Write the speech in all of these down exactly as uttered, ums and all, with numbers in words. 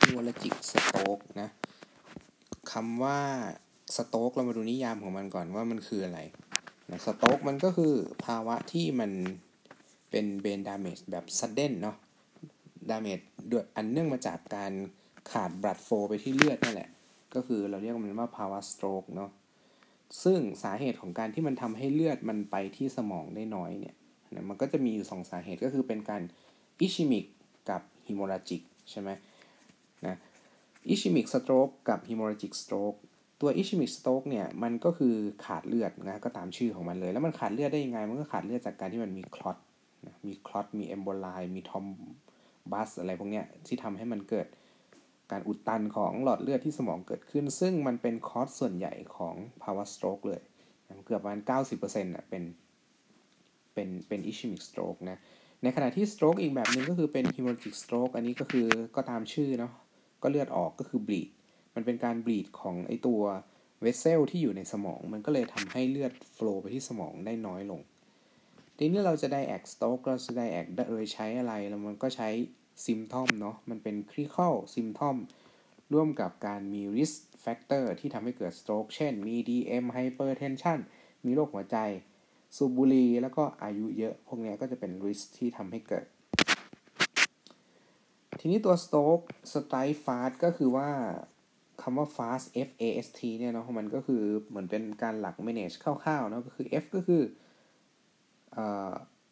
hemorrhagic stroke นะคำว่า stroke เรามาดูนิยามของมันก่อนว่ามันคืออะไรนะ stroke มันก็คือภาวะที่มันเป็น brain damage แบบ sudden เนาะ damage ด้วยอันเนื่องมาจากการขาด blood flow ไปที่เลือดนั่นแหละก็คือเราเรียกมันว่าภาวะ stroke เนาะซึ่งสาเหตุของการที่มันทำให้เลือดมันไปที่สมองได้น้อยเนี่ยนะมันก็จะมีอยู่สองสาเหตุก็คือเป็นการ ischemic กับ hemorrhagic ใช่ไหมนะ ischemic stroke กับ hemorrhagic stroke ตัว ischemic stroke เนี่ยมันก็คือขาดเลือดนะก็ตามชื่อของมันเลยแล้วมันขาดเลือดได้ยังไงมันก็ขาดเลือดจากการที่มันมีคลอตนะมีคลอตมีเอมโบไลมีทอมบัสอะไรพวกเนี้ยที่ทำให้มันเกิดการอุดตันของหลอดเลือดที่สมองเกิดขึ้นซึ่งมันเป็นคอสส่วนใหญ่ของภาวะ stroke เลยเกือบประมาณ เก้าสิบเปอร์เซ็นต์ น่ะเป็นเป็นเป็น ischemic stroke นะในขณะที่ stroke อีกแบบนึงก็คือเป็น hemorrhagic stroke อันนี้ก็คือก็ตามชื่อเนาะก็เลือดออกก็คือ bleed มันเป็นการ bleed ของไอตัว vessel ที่อยู่ในสมองมันก็เลยทำให้เลือด flow ไปที่สมองได้น้อยลงทีนี้เราจะ diagnose stroke เราจะ diagnose โดยใช้อะไรแล้วมันก็ใช้ symptom เนาะมันเป็น clinical symptom ร่วมกับการมี risk factor ที่ทำให้เกิด stroke เช่นมี ดี เอ็ม hypertension มีโรคหัวใจสูบบุหรี่แล้วก็อายุเยอะพวกนี้ก็จะเป็น risk ที่ทำให้เกิดทีนี้ตัว stroke strike fast ก็คือว่าคำว่า fast F A S T เนี่ยเนาะมันก็คือเหมือนเป็นการหลัก manage คร่าวๆเนาะก็คือ F ก็คือเอ่อ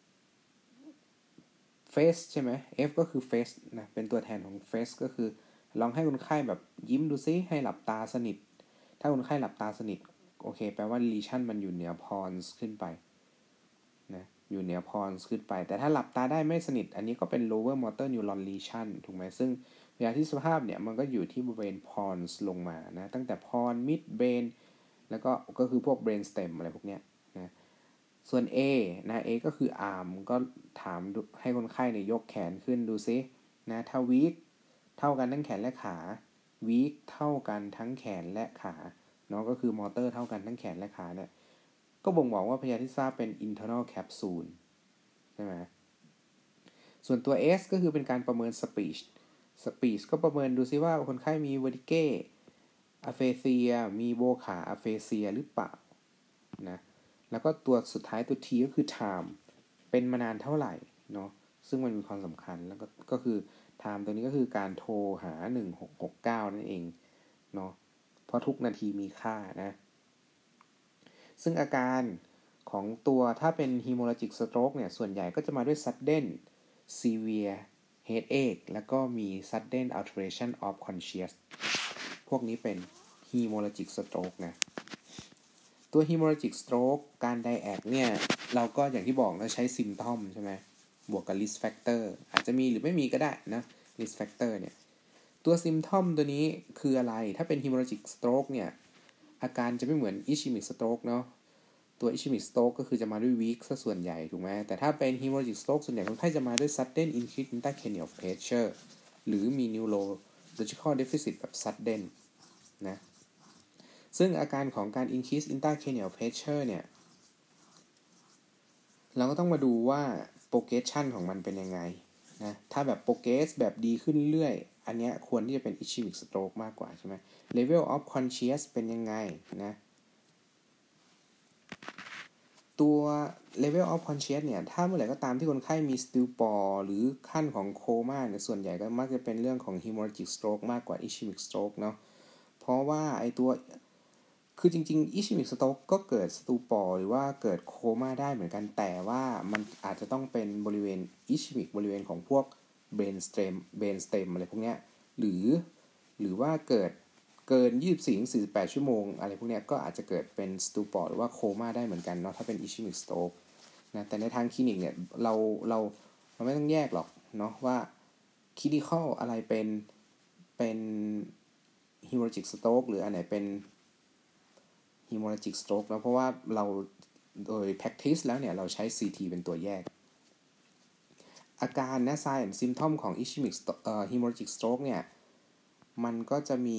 face ใช่ไหม F ก็คือ face นะเป็นตัวแทนของ face ก็คือลองให้คนไข้แบบยิ้มดูซิให้หลับตาสนิทถ้าคนไข้หลับตาสนิทโอเคแปลว่า lesion มันอยู่เหนือ pons ขึ้นไปนะอยู่เหนือ pons ขึ้นไปแต่ถ้าหลับตาได้ไม่สนิทอันนี้ก็เป็น lower motor neuron lesion ถูกไหมซึ่งเวลาที่สภาพเนี่ยมันก็อยู่ที่บริเวณ pons ลงมานะตั้งแต่ pons mid brain แล้วก็ก็คือพวก brain stem อะไรพวกเนี้ยนะส่วน A นะ A ก็คือ arm ก็ถามให้คนไข้เนี่ยยกแขนขึ้นดูซินะถ้า weak เท่ากันทั้งแขนและขา weak เท่ากันทั้งแขนและขาเนาะก็คือมอเตอร์เท่ากันทั้งแขนและขาเนี่ยก็บ่งบอกว่าพยาธิทราบเป็น internal capsule ใช่ไหมส่วนตัว S ก็คือเป็นการประเมิน speech speech ก็ประเมินดูซิว่าคนไข้มี vertigo aphasia มีโบขา aphasia หรือเปล่านะแล้วก็ตัวสุดท้ายตัว T ก็คือ time เป็นมานานเท่าไหร่เนาะซึ่งมันมีความสำคัญแล้วก็ก็คือ time ตัวนี้ก็คือการโทรหาหนึ่งหกหกเก้านั่นเองเนาะเพราะทุกนาทีมีค่านะซึ่งอาการของตัวถ้าเป็น hemorrhagic stroke เนี่ยส่วนใหญ่ก็จะมาด้วย sudden severe headache แล้วก็มี sudden alteration of conscious พวกนี้เป็น hemorrhagic stroke นะตัว hemorrhagic stroke การ diagnose เนี่ยเราก็อย่างที่บอกเราใช้ symptom ใช่ไหมบวกกับ risk factor อาจจะมีหรือไม่มีก็ได้นะ risk factor เนี่ยตัว symptom ตัวนี้คืออะไรถ้าเป็น hemorrhagic stroke เนี่ยอาการจะไม่เหมือน ischemic stroke เนาะตัว ischemic stroke ก็คือจะมาด้วย weak ซะส่วนใหญ่ถูกไหมแต่ถ้าเป็น hemorrhagic stroke ส่วนใหญ่คนไข้จะมาด้วย sudden increase intracranial pressure หรือมี neurological deficit แบบ sudden นะซึ่งอาการของการ increase intracranial pressure เนี่ยเราก็ต้องมาดูว่า progression ของมันเป็นยังไงนะถ้าแบบ progress แบบดีขึ้นเรื่อยอันเนี้ยควรที่จะเป็น ischemic stroke มากกว่าใช่ไหม level of conscious เป็นยังไงนะตัว level of conscious เนี่ยถ้าเมื่อไหร่ก็ตามที่คนไข้มี stupor หรือขั้นของโคม่าเนี่ยส่วนใหญ่ก็มักจะเป็นเรื่องของ hemorrhagic stroke มากกว่า ischemic stroke เนาะเพราะว่าไอตัวคือจริงๆ ischemic stroke ก็เกิด stupor หรือว่าเกิดโคม่าได้เหมือนกันแต่ว่ามันอาจจะต้องเป็นบริเวณ ischemic บริเวณของพวก brain stem brain stem อะไรพวกเนี้ยหรือหรือว่าเกิดเกินยี่สิบสี่ถึงสี่สิบแปดชั่วโมงอะไรพวกเนี้ยก็อาจจะเกิดเป็น stupor หรือว่าโคม่าได้เหมือนกันเนาะถ้าเป็น ischemic stroke นะแต่ในทางคลินิกเนี่ยเราเราเราไม่ต้องแยกหรอกเนาะว่า clinical อะไรเป็นเป็น hemorrhagic stroke หรืออันไหนเป็น hemorrhagic stroke นะเพราะว่าเราโดย practice แล้วเนี่ยเราใช้ ซี ที เป็นตัวแยกอาการนะ sign and symptom ของ ischemic เอ่อ hemorrhagic stroke เนี่ยมันก็จะมี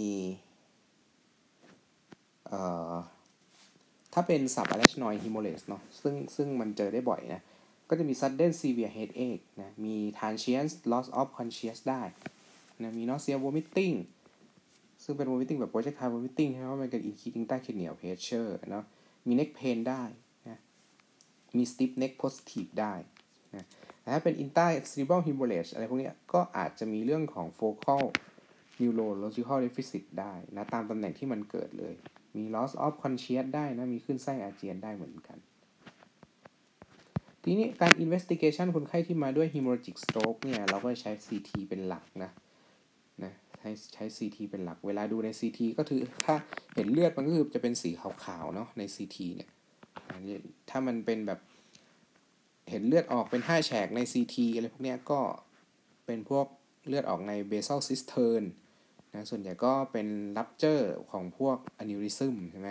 เอ่อถ้าเป็น subarachnoid hemorrhage เนาะซึ่งซึ่งมันเจอได้บ่อยนะก็จะมี sudden severe headache นะมี transient loss of conscious ได้นะมี nausea vomiting ซึ่งเป็น vomiting แบบ projectile vomiting ใช่ไหมว่ามันเกิด increasing intracranial pressure เนาะมี neck pain ได้นะมี stiff neck positive ได้นะแต่ถ้าเป็น intracerebral hemorrhage อะไรพวกนี้ก็อาจจะมีเรื่องของ focal neurological deficit ได้นะตามตำแหน่งที่มันเกิดเลยมี loss of conscious ได้นะมีขึ้นไส้อาเจียนได้เหมือนกันทีนี้การ investigation คนไข้ที่มาด้วย hemorrhagic stroke เนี่ยเราก็ใช้ ซี ที เป็นหลักนะนะใช้ใช้ ซี ที เป็นหลักเวลาดูใน ซี ที ก็คือถ้าเห็นเลือดมันก็คือจะเป็นสีขาวๆเนาะใน ซี ที เนี่ยถ้ามันเป็นแบบเห็นเลือดออกเป็นห้าแฉกใน ซี ที อะไรพวกเนี้ยก็เป็นพวกเลือดออกใน basal cistern นะส่วนใหญ่ก็เป็น rupture ของพวก aneurysm ใช่ไหม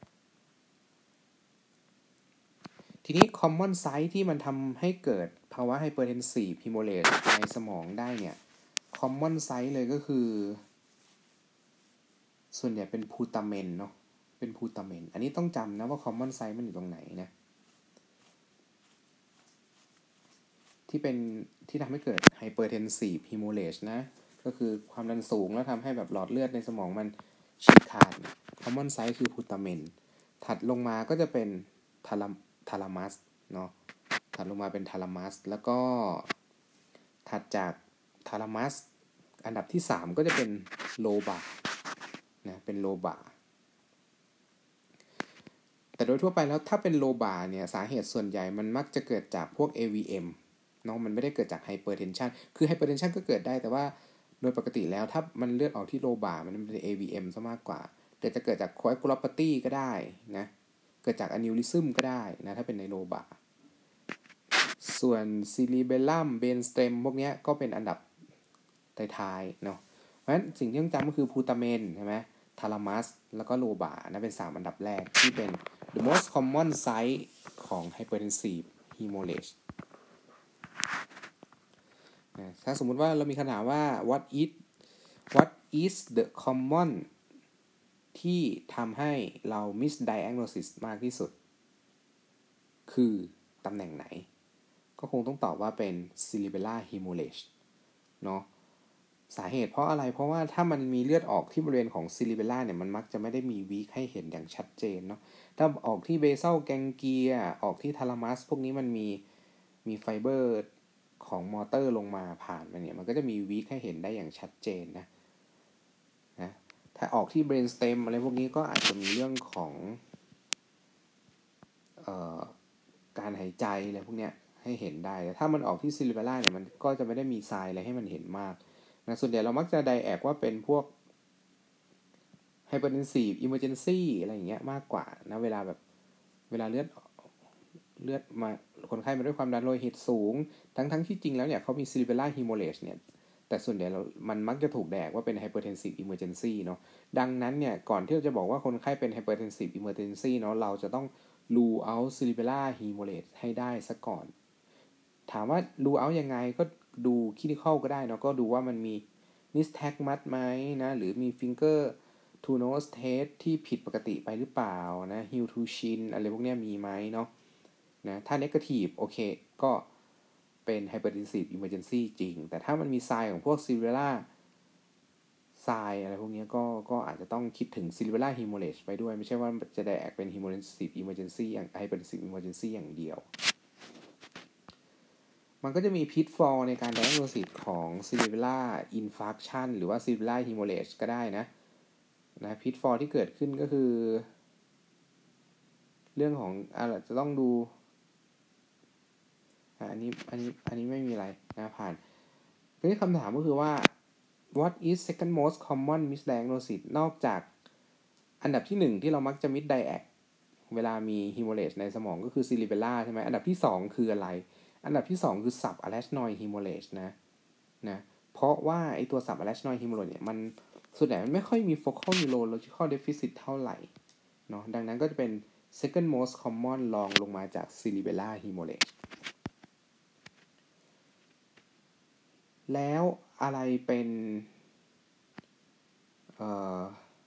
ทีนี้ common site ที่มันทำให้เกิดภาวะ hypertensive hemorrhage ในสมองได้เนี่ย common site เลยก็คือส่วนใหญ่เป็นพูตาเมนเนาะเป็นพูตาเมนอันนี้ต้องจำนะว่า common site มันอยู่ตรงไหนนะที่เป็นที่ทำให้เกิด hypertensive hemorrhage นะก็คือความดันสูงแล้วทำให้แบบหลอดเลือดในสมองมันฉีกขาด common site คือพูตาเมนถัดลงมาก็จะเป็นทาลามทาลามัสเนาะถัดลงมาเป็นทาลามัสแล้วก็ถัดจากทาลามัสอันดับที่สามก็จะเป็นโลบานะเป็นโลบาแต่โดยทั่วไปแล้วถ้าเป็นโลบาเนี่ยสาเหตุส่วนใหญ่มันมักจะเกิดจากพวก เอ วี เอ็ม เนาะมันไม่ได้เกิดจากไฮเปอร์เทนชันคือไฮเปอร์เทนชันก็เกิดได้แต่ว่าโดยปกติแล้วถ้ามันเลือดออกที่โลบามันเป็น เอ วี เอ็ม ซะมากกว่าแต่จะเกิดจากโคแอคูลอพาธีก็ได้นะเกิดจากอะนิวริซึมก็ได้นะถ้าเป็นในโลบาส่วนซิลิเบลัมเบนสเตมพวกนี้ก็เป็นอันดับท้ายๆเนาะเพราะฉะนั้นสิ่งที่ต้องจำก็คือพูตาเมนใช่ไหมทาลามัสแล้วก็โลบานะเป็นสามอันดับแรกที่เป็น the most common site ของ hypertensive hemorrhage นะถ้าสมมุติว่าเรามีคำถามว่า what is what is the common ที่ทำให้เรา misdiagnosis มากที่สุดคือตำแหน่งไหนก็คงต้องตอบว่าเป็น cerebellar hemorrhage เนาะสาเหตุเพราะอะไรเพราะว่าถ้ามันมีเลือดออกที่บริเวณของ cerebellar เนี่ยมันมักจะไม่ได้มีวีคให้เห็นอย่างชัดเจนเนาะถ้าออกที่ basal ganglia ออกที่ thalamus พวกนี้มันมีมีไฟเบอร์ของมอเตอร์ลงมาผ่านมาเนี่ยมันก็จะมีวีคให้เห็นได้อย่างชัดเจนนะนะถ้าออกที่ brain stem อะไรพวกนี้ก็อาจจะมีเรื่องของเอ่อการหายใจอะไรพวกเนี้ยให้เห็นได้แต่ถ้ามันออกที่ cerebellar เนี่ยมันก็จะไม่ได้มีไซน์อะไรให้มันเห็นมากนะส่วนใหญ่เรามักจะไดแอกว่าเป็นพวก hypertensive emergency อะไรอย่างเงี้ยมากกว่านะเวลาแบบเวลาเลือดเลือดมาคนไข้มาด้วยความดันโลหิตสูงทั้งทั้งที่จริงแล้วเนี่ยเขามี cerebellar hemorrhage เนี่ยแต่ส่วนใหญ่เรามันมักจะถูกแดกว่าเป็น hypertensive emergency เนาะดังนั้นเนี่ยก่อนที่เราจะบอกว่าคนไข้เป็น hypertensive emergency เนาะเราจะต้อง rule out cerebellar hemorrhage ให้ได้ซะก่อนถามว่า rule out ยังไงก็ดู clinical ก็ได้เนาะก็ดูว่ามันมี nystagmus ไหมนะหรือมี finger to nose test ที่ผิดปกติไปหรือเปล่านะ heel to chin อะไรพวกนี้มีไหมเนาะนะถ้า negative โอเคก็เป็น hypertensive emergency จริงแต่ถ้ามันมี sign ของพวก cerebellar sign อะไรพวกนี้ก็ก็อาจจะต้องคิดถึง cerebellar hemorrhage ไปด้วยไม่ใช่ว่าจะได้แอกเป็น hypertensive emergency อย่าง hypertensive emergency อย่างเดียวมันก็จะมี pitfall ในการ diagnosis ของ cerebellar infarction หรือว่า cerebellar hemorrhage ก็ได้นะนะ pitfall ที่เกิดขึ้นก็คือเรื่องของอ่ะจะต้องดูอันนี้อันนี้อันนี้ไม่มีอะไรนะผ่านทีนี้คำถามก็คือว่า what is second most common misdiagnosis นอกจากอันดับที่หนึ่งที่เรามักจะ misdiagnose เวลามี hemorrhage ในสมองก็คือ cerebellar ใช่ไหมอันดับที่สองคืออะไรอันดับที่สองคือ subarachnoid hemorrhage นะนะเพราะว่าไอตัว subarachnoid hemorrhage เนี่ยมันส่วนใหญ่มันไม่ค่อยมี focal neurological deficit เท่าไหร่เนาะดังนั้นก็จะเป็น second most common รองลงมาจาก cerebellar hemorrhage แล้วอะไรเป็นเอ่อ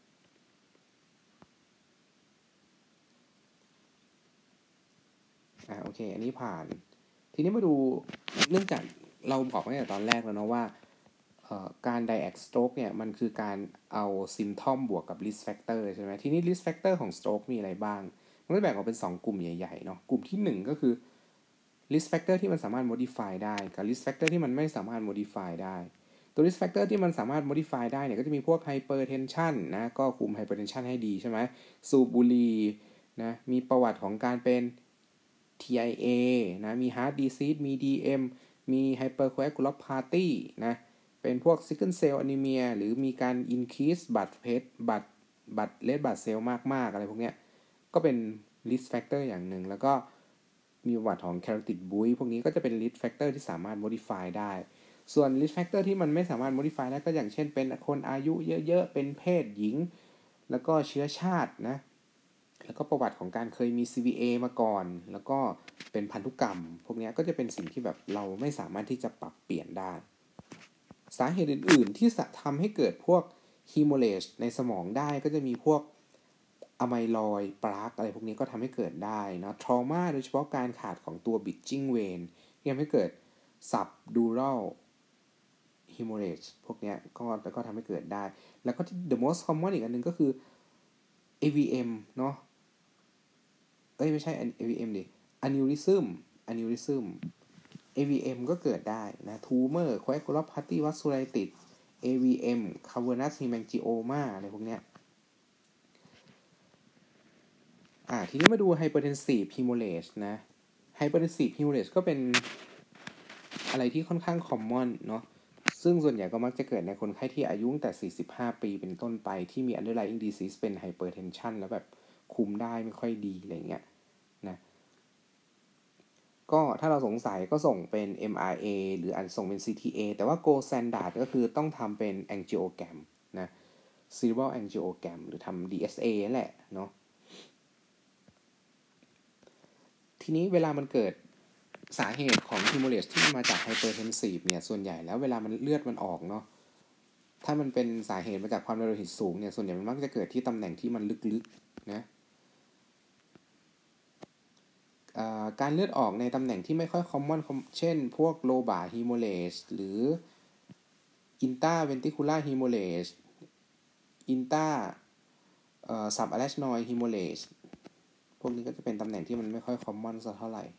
อ่าโอเคอันนี้ผ่านทีนี้มาดูเนื่องจากเราบอกตั้งแต่ตอนแรกแล้วเนาะว่าการ Dirac stroke เนี่ยมันคือการเอา symptom บวกกับ risk factor ใช่ไหมทีนี้ risk factor ของ stroke มีอะไรบ้างมันก็แบ่งออกเป็นสองกลุ่มใหญ่ๆเนาะกลุ่มที่หนึ่งก็คือ risk factor ที่มันสามารถ modify ได้กับ risk factor ที่มันไม่สามารถ modify ได้ตัว risk factor ที่มันสามารถ modify ได้เนี่ยก็จะมีพวก hypertension นะก็คุม hypertension ให้ดีใช่ไหมสูบบุหรี่นะมีประวัติของการเป็น ที ไอ เอ นะมี heart disease มี ดี เอ็ม มี hypercoagulopathy นะเป็นพวก sickle cell anemia หรือมีการ increase blood platelet blood blood red blood cell มากๆอะไรพวกเนี้ยก็เป็น risk factor อย่างหนึ่งแล้วก็มีประวัติของ carotid buoy พวกนี้ก็จะเป็น risk factor ที่สามารถ modify ได้ส่วน risk factor ที่มันไม่สามารถ modify ได้ก็อย่างเช่นเป็นคนอายุเยอะๆเป็นเพศหญิงแล้วก็เชื้อชาตินะแล้วก็ประวัติของการเคยมี ซี วี เอ มาก่อนแล้วก็เป็นพันธุกรรมพวกนี้ก็จะเป็นสิ่งที่แบบเราไม่สามารถที่จะปรับเปลี่ยนได้สาเหตุอื่นๆที่ทำให้เกิดพวก hemorrhage ในสมองได้ก็จะมีพวกอะไมลอยด์ปลากอะไรพวกนี้ก็ทำให้เกิดได้นะ trauma โดยเฉพาะการขาดของตัว bridging vein ที่ทำให้เกิด subdural hemorrhage พวกนี้ก็ก็ทำให้เกิดได้แล้วก็ the most common อีกอันนึงก็คือ เอ วี เอ็ม เนาะเอ้ยไม่ใช่ เอ วี เอ็ม ดิ aneurysm aneurysm เอ วี เอ็ม ก็เกิดได้นะ tumor coagulopathy vasculitis เอ วี เอ็ม cavernous hemangioma อะไรพวกเนี้ยอ่าทีนี้มาดู hypertensive hemorrhage นะ hypertensive hemorrhage ก็เป็นอะไรที่ค่อนข้าง common เนาะซึ่งส่วนใหญ่ก็มักจะเกิดในคนไข้ที่อายุตั้งแต่สี่สิบห้าปีเป็นต้นไปที่มี underlying disease เป็น hypertension แล้วแบบคุมได้ไม่ค่อยดีอะไรเงี้ยนะก็ถ้าเราสงสัยก็ส่งเป็น เอ็ม อาร์ เอ หรืออาจจะส่งเป็น ซี ที เอ แต่ว่า gold standard ก็คือต้องทำเป็น angiogram นะ cerebral angiogram หรือทำ ดี เอส เอ นั่นแหละเนาะทีนี้เวลามันเกิดสาเหตุของ hemorrhage ที่มาจาก hypertensive เนี่ยส่วนใหญ่แล้วเวลามันเลือดมันออกเนาะถ้ามันเป็นสาเหตุมาจากความดันโลหิตสูงเนี่ยส่วนใหญ่มันมักจะเกิดที่ตำแหน่งที่มันลึกๆนะการเลือดออกในตำแหน่งที่ไม่ค่อย common เช่นพวก lobar hemorrhage หรือ intraventricular hemorrhage intra subarachnoid hemorrhage พวกนี้ก็จะเป็นตำแหน่งที่มันไม่ค่อย common สักเท่าไหร่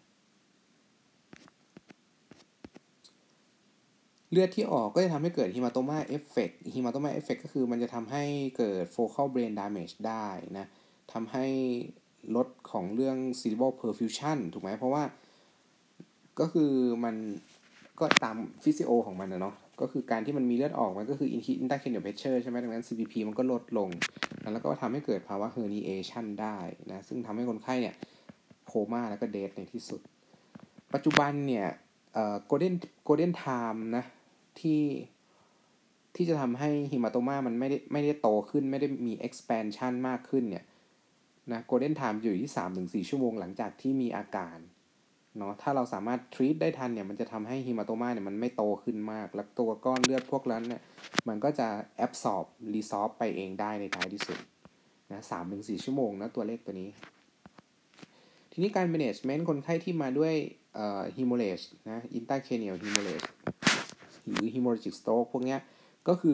เลือดที่ออกก็จะทำให้เกิด hematoma effect hematoma effect ก็คือมันจะทำให้เกิด focal brain damage ได้นะทำให้ลดของเรื่อง cerebral perfusion ถูกไหมเพราะว่าก็คือมันก็ตามฟิสิโอของมันนะเนาะก็คือการที่มันมีเลือดออกมันก็คือ intracranial pressure ใช่ไหมดังนั้น ซี พี พี มันก็ลดลงแล้วก็ทำให้เกิดภาวะ herniation ได้นะซึ่งทำให้คนไข้เนี่ยโคม่าแล้วก็เดธในที่สุดปัจจุบันเนี่ยเอ่อ golden golden time นะที่ที่จะทำให้ hematoma มันไม่ได้ไม่ได้โตขึ้นไม่ได้มี expansion มากขึ้นเนี่ยนะ golden time อยู่ที่ สามถึงสี่ ชั่วโมงหลังจากที่มีอาการเนาะถ้าเราสามารถ treat ได้ทันเนี่ยมันจะทำให้ hematoma เนี่ยมันไม่โตขึ้นมากแล้วตัวก้อนเลือดพวกนั้นเนี่ยมันก็จะ absorb resorb ไปเองได้ในท้ายที่สุดนะ สามถึงสี่ ชั่วโมงนะตัวเลขตัวนี้ทีนี้การ management คนไข้ที่มาด้วยเอ่อ hemorrhage นะ intracranial hemorrhage หรือ hemorrhagic stroke พวกเนี้ยก็คือ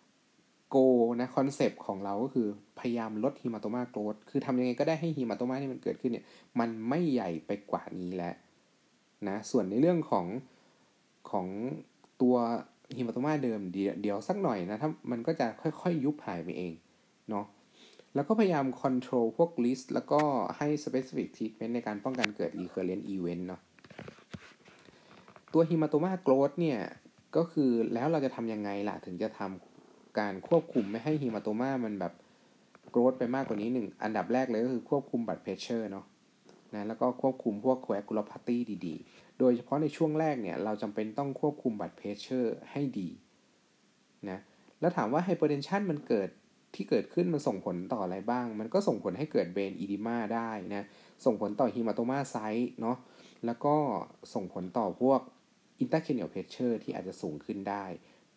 goal นะ concept ของเราก็คือพยายามลด hematoma growth คือทำยังไงก็ได้ให้ hematoma ที่มันเกิดขึ้นเนี่ยมันไม่ใหญ่ไปกว่านี้แล้วนะส่วนในเรื่องของของตัว hematoma เดิมเดี๋ยวเดี๋ยวสักหน่อยนะถ้ามันก็จะค่อยๆยุบหายไปเองเนาะแล้วก็พยายาม control พวก risk แล้วก็ให้ specific treatment ในการป้องกันเกิด recurrent event เนาะตัว hematoma growth เนี่ยก็คือแล้วเราจะทำยังไงล่ะถึงจะทำการควบคุมไม่ให้ hematoma มันแบบ growth ไปมากกว่านี้หนึ่งอันดับแรกเลยก็คือควบคุม blood pressure เนาะนะแล้วก็ควบคุมพวก coagulopathy ดีๆโดยเฉพาะในช่วงแรกเนี่ยเราจำเป็นต้องควบคุม blood pressure ให้ดีนะแล้วถามว่า hypertension มันเกิดที่เกิดขึ้นมันส่งผลต่ออะไรบ้างมันก็ส่งผลให้เกิด brain edema ได้นะส่งผลต่อ hematoma site เนาะแล้วก็ส่งผลต่อพวก intracranial pressure ที่อาจจะสูงขึ้นได้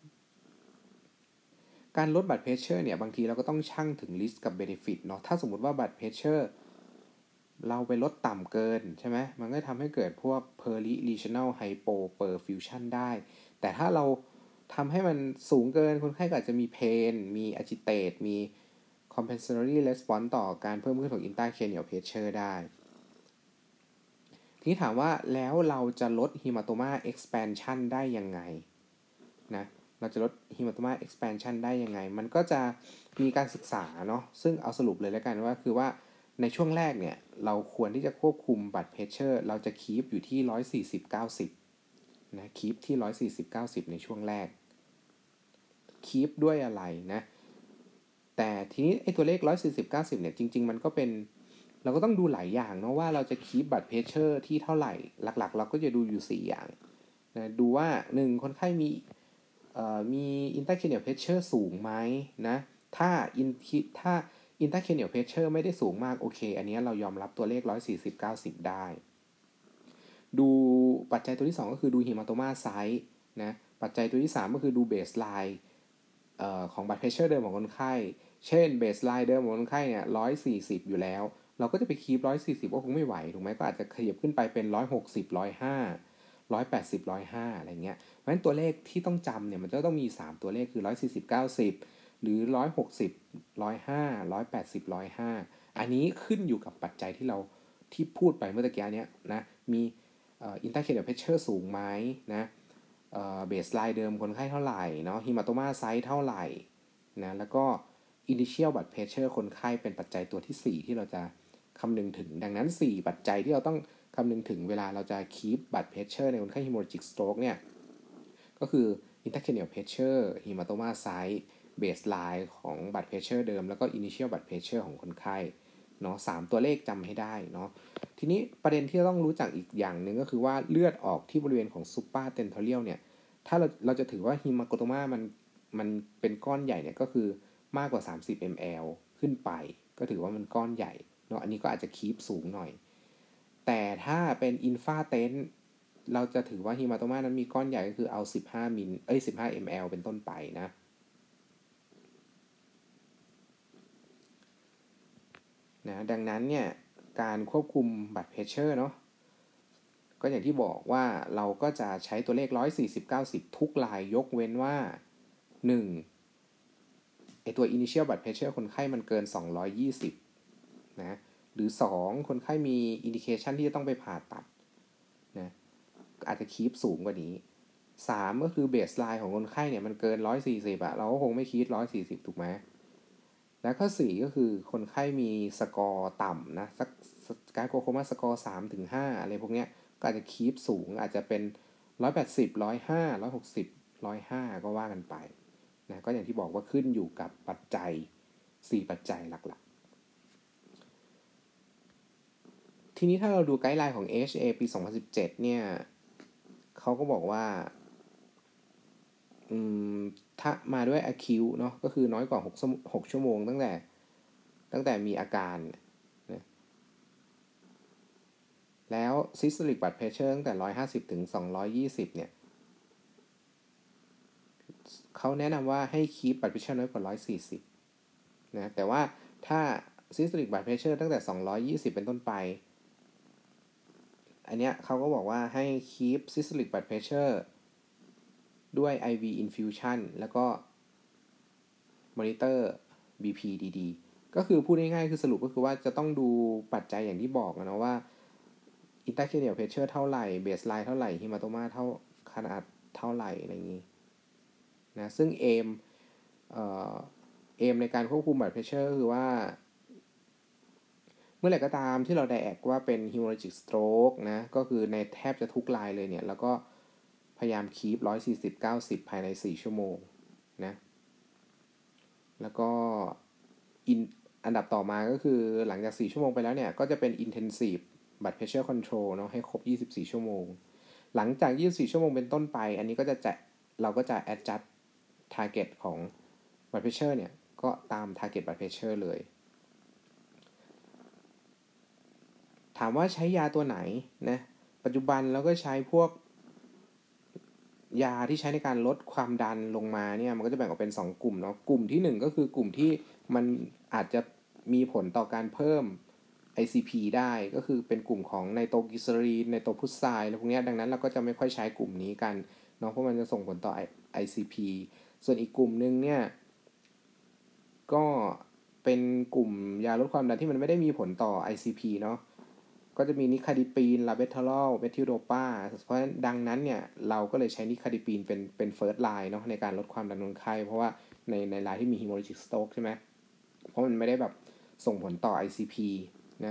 การลด blood pressure เนี่ยบางทีเราก็ต้องชั่งถึง risk กับ benefit เนาะถ้าสมมุติว่า blood pressure เราไปลดต่ำเกินใช่ไหมมันก็ทำให้เกิดพวก periregional hypoperfusion ได้แต่ถ้าเราทำให้มันสูงเกินคนไข้ก็อาจจะมีเพนมี agitate มี compensatory response ต่อการเพิ่มขึ้นของ intracranial pressure ได้ทีนี้ถามว่าแล้วเราจะลด hematoma expansion ได้ยังไงนะเราจะลด hematoma expansion ได้ยังไงมันก็จะมีการศึกษาเนาะซึ่งเอาสรุปเลยแล้วกันว่าคือว่าในช่วงแรกเนี่ยเราควรที่จะควบคุม blood pressure เราจะคีปอยู่ที่หนึ่งร้อยสี่สิบ เก้าสิบนะคีปที่หนึ่งร้อยสี่สิบ เก้าสิบในช่วงแรกคีปด้วยอะไรนะแต่ทีนี้ไอ้ตัวเลขหนึ่งร้อยสี่สิบ เก้าสิบเนี่ยจริงๆมันก็เป็นเราก็ต้องดูหลายอย่างเนาะว่าเราจะคีป blood pressure ที่เท่าไหร่หลักๆเราก็จะดูอยู่สี่อย่างนะดูว่าหนึ่งคนไข้มีเอ่อมี intracranial pressure สูงไหมนะถ้า in ถ้า intracranial pressure ไม่ได้สูงมากโอเคอันนี้เรายอมรับตัวเลขหนึ่งร้อยสี่สิบ เก้าสิบได้ดูปัจจัยตัวที่สองก็คือดู hematoma size นะปัจจัยตัวที่สามก็คือดู baseline เอ่อของ blood pressure เดิมของคนไข้เช่น baseline เดิมของคนไข้เนี่ยหนึ่งร้อยสี่สิบอยู่แล้วเราก็จะไปคีปหนึ่งร้อยสี่สิบก็คงไม่ไหวถูกไหมก็อาจจะขยับขึ้นไปเป็นหนึ่งร้อยหกสิบ หนึ่งร้อยห้า หนึ่งร้อยแปดสิบ หนึ่งร้อยห้าอะไรเงี้ยเพราะฉะนั้นตัวเลขที่ต้องจำเนี่ยมันจะต้องมีสามตัวเลขคือหนึ่งร้อยสี่สิบ เก้าสิบหรือหนึ่งร้อยหกสิบ หนึ่งร้อยห้า หนึ่งร้อยแปดสิบ หนึ่งร้อยห้าอันนี้ขึ้นอยู่กับปัจจัยที่เราที่พูดไปเมื่อตะกี้เนี้ยนะมีเอ่อ intracranial pressure สูงไหมนะเอ่อ baseline เดิมคนไข้เท่าไหร่เนาะ hematoma size เท่าไหร่นะแล้วก็ initial blood pressure คนไข้เป็นปัจจัยตัวที่สี่ที่เราจะคำนึงถึงดังนั้นสี่ปัจจัยที่เราต้องคำนึงถึงเวลาเราจะ keep blood pressure ในคนไข้ hemorrhagic stroke เนี่ยก็คือ intracranial pressure hematoma size baseline ของ blood pressure เดิมแล้วก็ initial blood pressure ของคนไข้เนาะสามตัวเลขจำให้ได้เนาะทีนี้ประเด็นที่เราต้องรู้จักอีกอย่างหนึ่งก็คือว่าเลือดออกที่บริเวณของ supratentorial เนี่ยถ้าเราเราจะถือว่า hematoma มันมันเป็นก้อนใหญ่เนี่ยก็คือมากกว่าสามสิบมิลลิลิตร ขึ้นไปก็ถือว่ามันก้อนใหญ่เนาะอันนี้ก็อาจจะคีปสูงหน่อยแต่ถ้าเป็น infarct เราจะถือว่า hematoma นั้นมีก้อนใหญ่ก็คือเอาสิบห้ามิลเอ้ยสิบห้ามิลลิลิตร เป็นต้นไปนะนะดังนั้นเนี่ยการควบคุม blood pressure เนาะก็อย่างที่บอกว่าเราก็จะใช้ตัวเลขหนึ่งร้อยสี่สิบ เก้าสิบทุกรายยกเว้นว่าหนึ่งไอตัว initial blood pressure คนไข้มันเกินสองร้อยยี่สิบนะหรือสองคนไข้มี indication ที่จะต้องไปผ่าตัดนะอาจจะคีปสูงกว่านี้สามก็คือ baseline ของคนไข้เนี่ยมันเกินหนึ่งร้อยสี่สิบอะเราก็คงไม่คีปหนึ่งร้อยสี่สิบถูกไหมแล้วข้อสี่ก็คือคนไข้มีสกอร์ต่ำนะสักการโกโคมาสกอร์ สามถึงห้า อะไรพวกเนี้ยก็อาจจะคีปสูงอาจจะเป็นหนึ่งร้อยแปดสิบ หนึ่งร้อยห้า หนึ่งร้อยหกสิบ หนึ่งร้อยห้าก็ว่ากันไปนะก็อย่างที่บอกว่าขึ้นอยู่กับปัจจัยสี่ปัจจัยหลักๆทีนี้ถ้าเราดูไกด์ไลน์ของ เอ เอช เอ ปี สองพันสิบเจ็ดเนี่ยเขาก็บอกว่าอืมถ้ามาด้วย acute เนาะก็คือน้อยกว่าหกชั่วโมงตั้งแต่ตั้งแต่มีอาการนะแล้ว systolic blood pressure ตั้งแต่หนึ่งร้อยห้าสิบถึงสองร้อยยี่สิบเนี่ยเขาแนะนำว่าให้ keep blood pressure น้อยกว่าหนึ่งร้อยสี่สิบนะแต่ว่าถ้า systolic blood pressure ตั้งแต่สองร้อยยี่สิบเป็นต้นไปอันเนี้ยเขาก็บอกว่าให้ keep systolic blood pressure ด้วย ไอ วี infusion แล้วก็ monitor บี พี ดี ๆ ก็คือพูดง่ายๆคือสรุปก็คือว่าจะต้องดูปัจจัยอย่างที่บอกนะว่า intracranial pressure เท่าไหร่ baseline เท่าไหร่ hematoma เท่าขนาดเท่าไหร่อะไรอย่างนี้นะซึ่ง aim เอ่อ aim ในการควบคุม blood pressure คือว่าเมื่อไหร่ก็ตามที่เราไดแอกว่าเป็น hemorrhagic stroke นะก็คือในแทบจะทุกรายเลยเนี่ยแล้วก็พยายามคีปหนึ่งร้อยสี่สิบ เก้าสิบภายในสี่ชั่วโมงนะแล้วก็อันดับต่อมาก็คือหลังจากสี่ชั่วโมงไปแล้วเนี่ยก็จะเป็น intensive blood pressure control เนาะให้ครบยี่สิบสี่ชั่วโมงหลังจากยี่สิบสี่ชั่วโมงเป็นต้นไปอันนี้ก็จะจะเราก็จะ adjust target ของ blood pressure เนี่ยก็ตาม target blood pressure เลยถามว่าใช้ยาตัวไหนนะปัจจุบันเราก็ใช้พวกยาที่ใช้ในการลดความดันลงมาเนี่ยมันก็จะแบ่งออกเป็นสองกลุ่มเนาะกลุ่มที่หนึ่งก็คือกลุ่มที่มันอาจจะมีผลต่อการเพิ่ม ไอ ซี พี ได้ก็คือเป็นกลุ่มของไนโตรกลีเซอรีนไนโตรพุทไซด์อะไรพวกนี้ดังนั้นเราก็จะไม่ค่อยใช้กลุ่มนี้กันเนาะเพราะมันจะส่งผลต่อ ไอไอ ซี พี ส่วนอีกกลุ่มนึงเนี่ยก็เป็นกลุ่มยาลดความดันที่มันไม่ได้มีผลต่อ ไอ ซี พี เนาะก็จะมีนิคาดิปีน ลาเบทาลอล เมทิลโดปาเพราะฉะนั้นดังนั้นเนี่ยเราก็เลยใช้นิคาดิปีนเป็นเป็นเฟิร์สไลน์เนาะในการลดความดันคนไข้เพราะว่าในในรายที่มี hemorrhagic stroke ใช่ไหมเพราะมันไม่ได้แบบส่งผลต่อ ไอ ซี พี นะ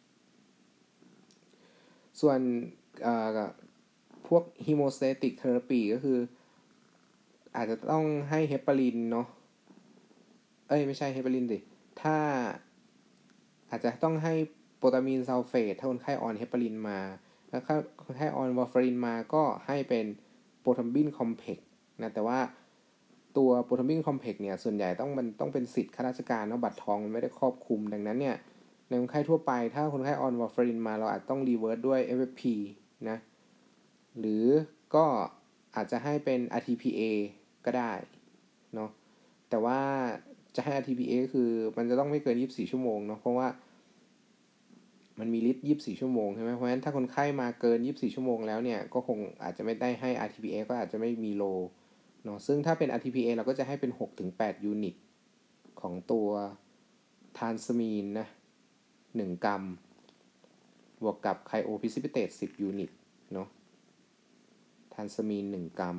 ส่วนพวก hemostatic therapy ก็คืออาจจะต้องให้เฮปารินเนาะเอ้ยไม่ใช่เฮปารินดิถ้าอาจจะต้องให้โปรตามีนซัลเฟตถ้าคนไข้ออนเฮปารินมาแล้วถ้าคนไข้ออนวาร์ฟารินมาก็ให้เป็นโปรทัมบินคอมเพล็กซ์นะแต่ว่าตัวโปรทัมบินคอมเพล็กซ์เนี่ยส่วนใหญ่ต้องมันต้องเป็นสิทธิ์ข้าราชการเนาะบัตรทองมันไม่ได้ครอบคลุมดังนั้นเนี่ยในคนไข้ทั่วไปถ้าคนไข้ออนวาร์ฟารินมาเราอาจต้องรีเวิร์สด้วย เอฟ เอฟ พี นะหรือก็อาจจะให้เป็น อาร์ ที พี เอ ก็ได้เนาะแต่ว่าจะให้ อาร์ ที พี เอ คือมันจะต้องไม่เกินยี่สิบสี่ชั่วโมงเนาะเพราะว่ามันมีฤทธิ์ยี่สิบสี่ชั่วโมงใช่ไหมเพราะฉะนั้นถ้าคนไข้มาเกินยี่สิบสี่ชั่วโมงแล้วเนี่ยก็คงอาจจะไม่ได้ให้ อาร์ ที พี เอ ก็อาจจะไม่มีโลเนาะซึ่งถ้าเป็น อาร์ ที พี เอ เราก็จะให้เป็น หกถึงแปด ยูนิตของตัวทรานสมีนนะหนึ่งกรัมบวกกับไคโอพิซิปิเตตสิบยูนิตเนาะทรานสมีนหนึ่งกรัม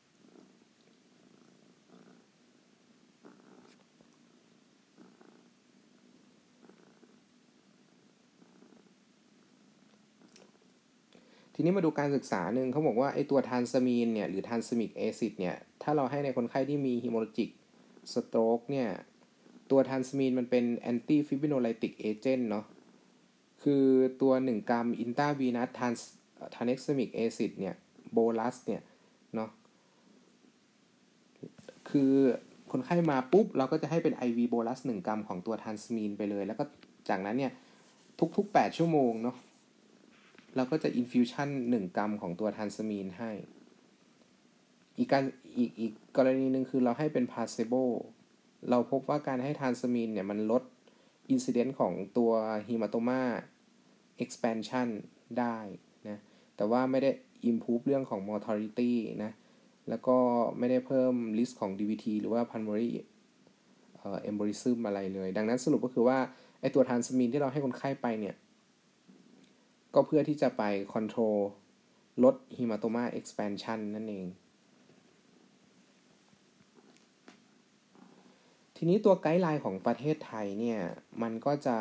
ทีนี้มาดูการศึกษาหนึ่งเขาบอกว่าไอตัวทรานสมีนเนี่ยหรือทรานสมิกแอซิดเนี่ยถ้าเราให้ในคนไข้ที่มีฮีโมโรจิกสโตรกเนี่ยตัวทรานสมีนมันเป็นแอนตี้ฟิบริโนไลติกเอเจนต์เนาะคือตัวหนึ่งกรัมอินตราวีนัสทรานทรานเอ็กซ์มิกแอซิดเนี่ยโบลัสเนี่ยเนาะคือคนไข้มาปุ๊บเราก็จะให้เป็น ไอ วี โบลัสหนึ่งกรัมของตัวทรานสมีนไปเลยแล้วก็จากนั้นเนี่ยทุกๆแปดชั่วโมงเนาะเราก็จะอินฟิวชั่นหนึ่งกรัมของตัวทรานสมีนให้อีกการอีกอีกกรณีนึงคือเราให้เป็นพาเซโบเราพบว่าการให้ทรานสมีนเนี่ยมันลดอินซิเดนต์ของตัวฮีมาโตมาเอ็กซ์แพนชันได้นะแต่ว่าไม่ได้ improve เรื่องของ mortality นะแล้วก็ไม่ได้เพิ่ม risk ของ ดี วี ที หรือว่า pulmonary เอ่อ embolism อะไรเลยดังนั้นสรุปก็คือว่าไอตัวทรานสมีนที่เราให้คนไข้ไปเนี่ยก็เพื่อที่จะไป control ลด hematoma expansion นั่นเองทีนี้ตัวไกด์ไลน์ของประเทศไทยเนี่ยมันก็จะ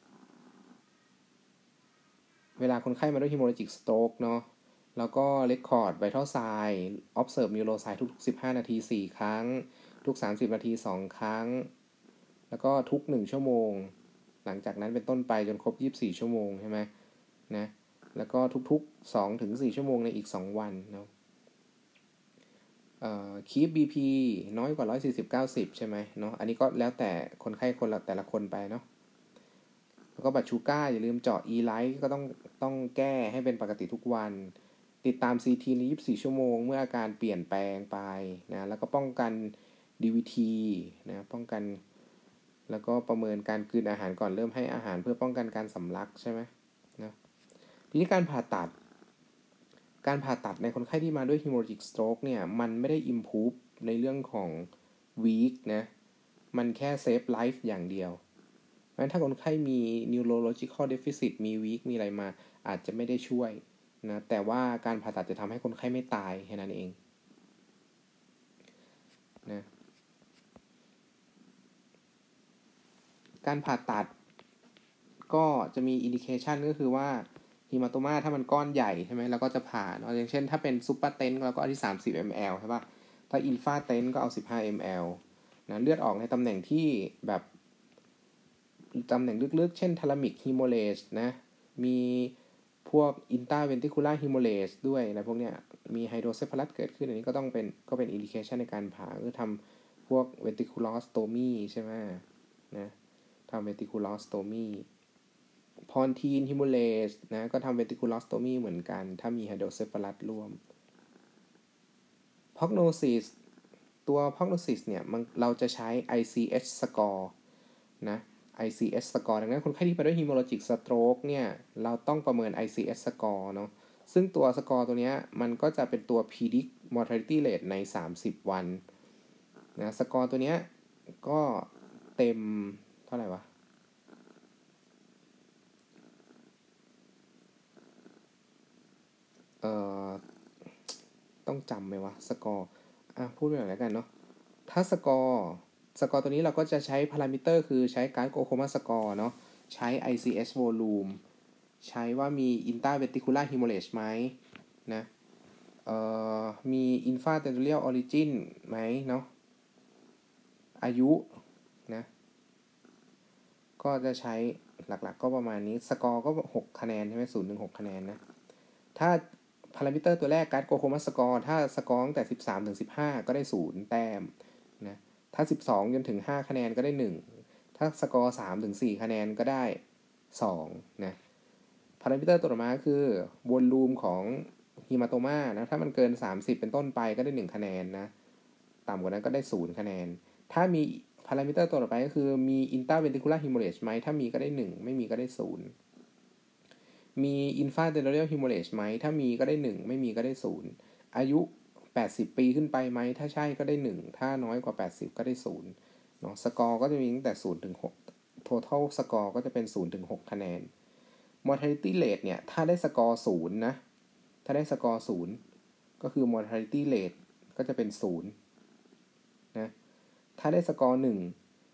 เวลาคนไข้มาด้วย hemorrhagic stroke เนาะแล้วก็ record vital sign observe neuroscience ทุกๆสิบห้านาทีสี่ครั้งทุกสามสิบนาทีสองครั้งแล้วก็ทุกหนึ่งชั่วโมงหลังจากนั้นเป็นต้นไปจนครบยี่สิบสี่ชั่วโมงใช่ไหมนะแล้วก็ทุกๆ สองถึงสี่ ชั่วโมงในอีกสองวันเนาะเอ่อ keep บี พี น้อยกว่าหนึ่งร้อยสี่สิบ เก้าสิบใช่ไหมเนาะอันนี้ก็แล้วแต่คนไข้คนละแต่ละคนไปเนาะแล้วก็บัตรชูก้าอย่าลืมเจาะ E-Lite ก็ต้องต้องแก้ให้เป็นปกติทุกวันติดตาม ซี ที ในยี่สิบสี่ชั่วโมงเมื่ออาการเปลี่ยนแปลงไปนะแล้วก็ป้องกัน ดี วี ที นะป้องกันแล้วก็ประเมินการกลืนอาหารก่อนเริ่มให้อาหารเพื่อป้องกันการสำลักใช่ไหมนะทีนี้การผ่าตัดการผ่าตัดในคนไข้ที่มาด้วย hemorrhagic stroke เนี่ยมันไม่ได้ improve ในเรื่องของ weak นะมันแค่ save life อย่างเดียวเพราะฉะนั้นถ้าคนไข้มี neurological deficit มี weak มีอะไรมาอาจจะไม่ได้ช่วยนะแต่ว่าการผ่าตัดจะทำให้คนไข้ไม่ตายแค่นั้นเองนะการผ่าตัดก็จะมี indication ก็คือว่าฮีมาโตมาถ้ามันก้อนใหญ่ใช่ไหมเราก็จะผ่าเนาะอย่างเช่นถ้าเป็นซูเปอร์เทนเราก็เอาที่สามสิบมิลลิลิตร ใช่ป่ะถ้าอินฟาเทนก็เอาสิบห้ามิลลิลิตร นะเลือดออกในตำแหน่งที่แบบตำแหน่งลึกๆเช่นทาลามิกฮีโมเลสนะมีพวกอินตราเวนติคูล่าฮีโมเลสด้วยอะไรพวกเนี้ยมีไฮโดรเซฟาลัสเกิดขึ้นอันนี้ก็ต้องเป็นก็เป็นอินดิเคชันในการผ่าคือทำพวกเวนติคูลอสโตมีใช่ไหมนะทำเวนติคูลอสโตมีพอนทีนฮิมูเลสนะก็ทำเวนติคูลอสโตมีเหมือนกันถ้ามีไฮโดรเซฟาลัสร่วมพ r o g n o s i s ตัว prognosis เนี่ยมันเราจะใช้ ไอ ซี เอช score นะ ไอ ซี เอช score ดังนั้นคนไข้ที่ไปด้วย hemorrhagic stroke เนี่ยเราต้องประเมิน ไอ ซี เอช score เนาะซึ่งตัวสกอร์ตัวนี้มันก็จะเป็นตัว predict mortality rate ในสามสิบวันนะสกอร์ตัวนี้ก็เต็มเท่าไหร่วะเอ่อต้องจำไหมวะสกอร์อ่ะพูดไปหน่อยแล้วกันเนาะถ้าสกอร์สกอร์ตัวนี้เราก็จะใช้พารามิเตอร์คือใช้การ์ดโกโคมาสกอร์เนาะใช้ ไอ ซี เอส volume ใช้ว่ามี intraventricular hemorrhage ไหมนะเอ่อมี infratentorial origin ไหมเนาะอายุนะก็จะใช้หลักๆก็ประมาณนี้สกอร์ก็หกคะแนนใช่ไหมศูนย์ถึงหกคะแนนนะถ้าพารามิเตอร์ตัวแรกการ์ดโกโคมาสกอร์ถ้าสกอร์ตั้งแต่สิบสามถึงสิบห้าก็ได้ศูนย์แต้มนะถ้าสิบสองจนถึงห้าคะแนนก็ได้หนึ่งถ้าสกอร์สามถึงสี่คะแนนก็ได้สองนะพารามิเตอร์ตัวต่อมาคือวอลลุ่มของฮีมาโตมานะถ้ามันเกินสามสิบเป็นต้นไปก็ได้หนึ่งคะแนนนะต่ำกว่านั้นก็ได้ศูนย์คะแนนถ้ามีพารามิเตอร์ตัวต่อไปก็คือมี intraventricular hemorrhage ไหมถ้ามีก็ได้หนึ่งไม่มีก็ได้ศูนย์มี infratentorial hemorrhage ไหมถ้ามีก็ได้หนึ่งไม่มีก็ได้ศูนย์อายุแปดสิบปีขึ้นไปไหมถ้าใช่ก็ได้หนึ่งถ้าน้อยกว่าแปดสิบก็ได้ศูนย์เนาะสกอร์ก็จะมีตั้งแต่ศูนย์ถึงหก total สกอร์ก็จะเป็นศูนย์ถึงหกคะแนน mortality rate เนี่ยถ้าได้สกอร์ศูนย์นะถ้าได้สกอร์ศูนย์ก็คือ mortality rate ก็จะเป็นศูนย์นะถ้าได้สกอร์หนึ่ง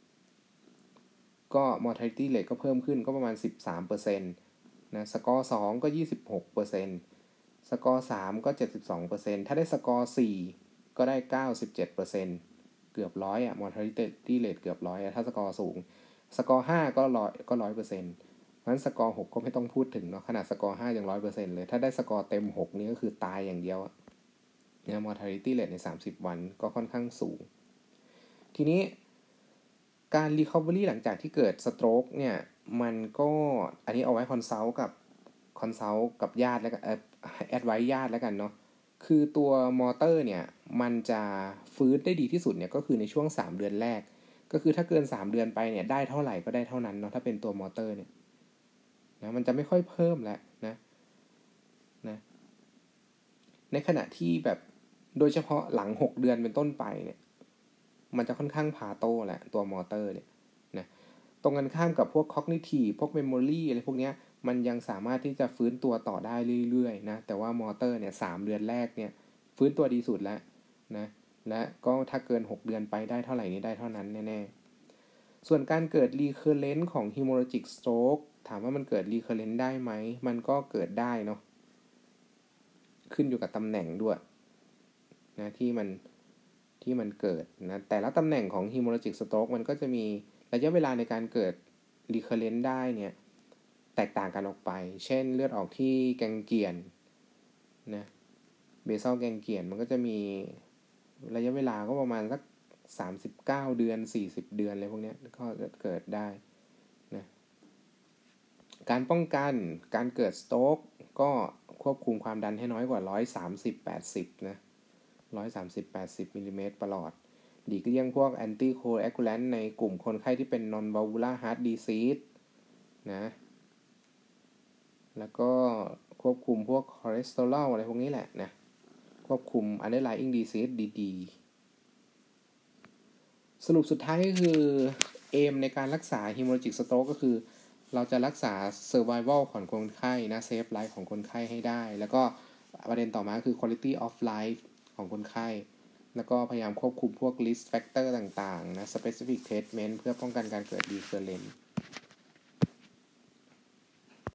ก็ mortality rate ก็เพิ่มขึ้นก็ประมาณ สิบสามเปอร์เซ็นต์ นะสกอร์สองก็ ยี่สิบหกเปอร์เซ็นต์ สกอร์สามก็ เจ็ดสิบสองเปอร์เซ็นต์ ถ้าได้สกอร์สี่ก็ได้ เก้าสิบเจ็ดเปอร์เซ็นต์ เกือบร้อยอ่ะ mortality rate เกือบร้อยอ่ะถ้าสกอร์สูงสกอร์ห้าก็ร้อยก็ หนึ่งร้อยเปอร์เซ็นต์ เพราะฉะนั้นสกอร์หกก็ไม่ต้องพูดถึงเนาะขนาดสกอร์ห้ายัง หนึ่งร้อยเปอร์เซ็นต์ เลยถ้าได้สกอร์เต็มหกนี่ก็คือตายอย่างเดียวอ่ะเนี่ย mortality rate ในสามสิบวันก็ค่อนข้างสูงทีนี้การ recovery หลังจากที่เกิด stroke เนี่ยมันก็อันนี้เอาไว้ consult กับ consult กับญาติแล้วกันเอ่อ advice ญาติแล้วกันเนาะคือตัวมอเตอร์เนี่ยมันจะฟื้นได้ดีที่สุดเนี่ยก็คือในช่วงสามเดือนแรกก็คือถ้าเกินสามเดือนไปเนี่ยได้เท่าไหร่ก็ได้เท่านั้นเนาะถ้าเป็นตัวมอเตอร์เนี่ยนะมันจะไม่ค่อยเพิ่มแล้วนะนะในขณะที่แบบโดยเฉพาะหลังหกเดือนเป็นต้นไปเนี่ยมันจะค่อนข้างพาโตแหละตัวมอเตอร์เนี่ยนะตรงกันข้ามกับพวก cognitive พวก memory อะไรพวกเนี้ยมันยังสามารถที่จะฟื้นตัวต่อได้เรื่อยๆนะแต่ว่ามอเตอร์เนี่ยสามเดือนแรกเนี่ยฟื้นตัวดีสุดแล้วนะและก็ถ้าเกินหกเดือนไปได้เท่าไหร่นี้ได้เท่านั้นแน่ๆส่วนการเกิด recurrent ของ hemorrhagic stroke ถามว่ามันเกิด recurrent ได้ไหมมันก็เกิดได้เนาะขึ้นอยู่กับตำแหน่งด้วยนะที่มันที่มันเกิดนะแต่ละตำแหน่งของ hemorrhagic stroke มันก็จะมีระยะเวลาในการเกิด recurrent ได้เนี่ยแตกต่างกันออกไปเช่นเลือดออกที่แกงเกียนนะเบซัลแกงเกียนมันก็จะมีระยะเวลาก็ประมาณสักสามสิบเก้าเดือนสี่สิบเดือนอะไรพวกนี้ก็เกิดได้นะการป้องกันการเกิดสโตรกก็ควบคุมความดันให้น้อยกว่าหนึ่งร้อยสามสิบ แปดสิบนะหนึ่งร้อยสามสิบ แปดสิบมิลลิเมตรประหลอดหลีกเลี่ยงพวกแอนตี้โคแอคูแลนต์ในกลุ่มคนไข้ที่เป็น non valvular heart disease นะแล้วก็ควบคุมพวกคอเลสเตอรอลอะไรพวกนี้แหละนะควบคุม underlying disease ดีๆสรุปสุดท้ายก็คือเอมในการรักษา hemorrhagic stroke ก็คือเราจะรักษา survival ของคนไข้นะ save life ของคนไข้ให้ได้แล้วก็ประเด็นต่อมาคือ quality of life ของคนไข้แล้วก็พยายามควบคุมพวก risk factor ต่างๆนะ specific treatment เพื่อป้องกันการเกิด recurrent